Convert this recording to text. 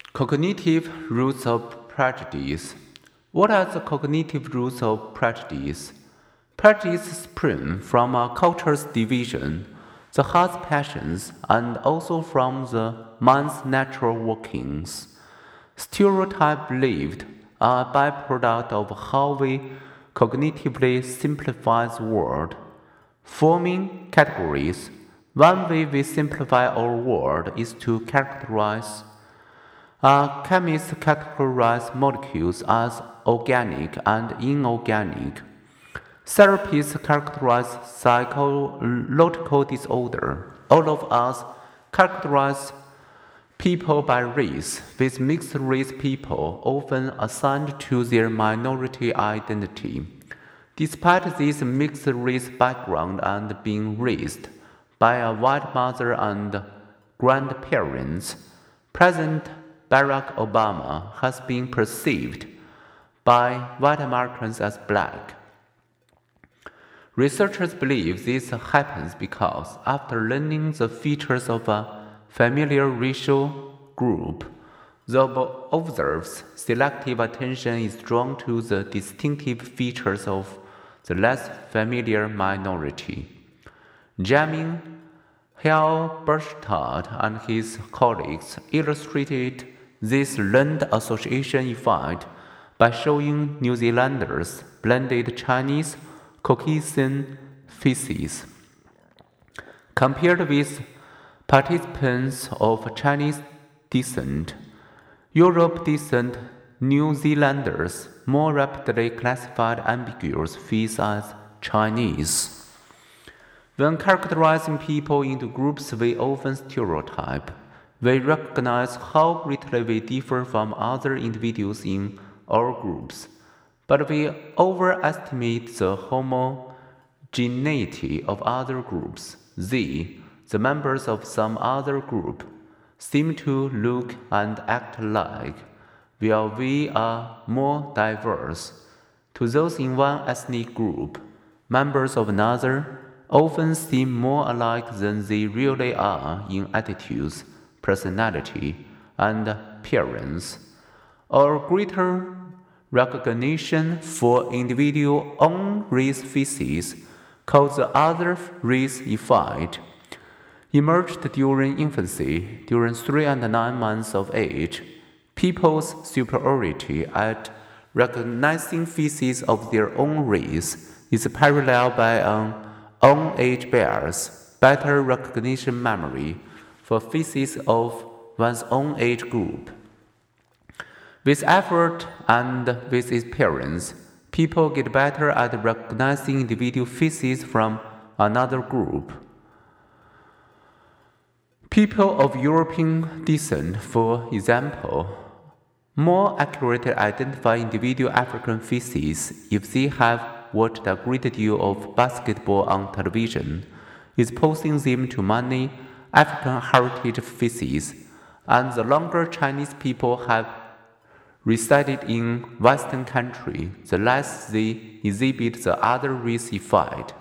Cognitive roots of prejudice. What are the cognitive roots of prejudice? Prejudice springs from a culture's division, the heart's passions, and also from the mind's natural workings. Stereotype believed are a byproduct of how we cognitively simplify the world. Forming categories. One way we simplify our world is to characterize. Chemists categorize molecules as organic and inorganic. Therapists characterize psychological disorder. All of us characterize people by race, with mixed race people often assigned to their minority identity. Despite this mixed race background and being raised by a white mother and grandparents, President Barack Obama has been perceived by white Americans as black. Researchers believe this happens because, after learning the features of a familiar racial group, the observer's selective attention is drawn to the distinctive features of the less familiar minority. Jamin Halberstadt and his colleagues illustrated this learned association effect by showing New Zealanders blended Chinese Caucasian faces, compared with participants of Chinese descent. Europe descent New Zealanders more rapidly classified ambiguous face as Chinese. When characterizing people into groups we often stereotype. We recognize how greatly we differ from other individuals in our groups, but we overestimate the homogeneity of other groups. They, the members of some other group, seem to look and act alike, while we are more diverse. To those in one ethnic group, members of another often seem more alike than they really are in attitudes, personality, and appearance. Our greater recognition for individual own race faces, called the other race effect, emerged during infancy. During 3 and 9 months of age, people's superiority at recognizing faces of their own race is paralleled by an own age bias, better recognition memory for faces of one's own age group. With effort and with experience, people get better at recognizing individual faces from another group. People of European descent, for example, more accurately identify individual African faces if they have watched a great deal of basketball on television, exposing them to many African heritage faces, and the longer Chinese people have resided in Western countries, the less they exhibit the other race effect.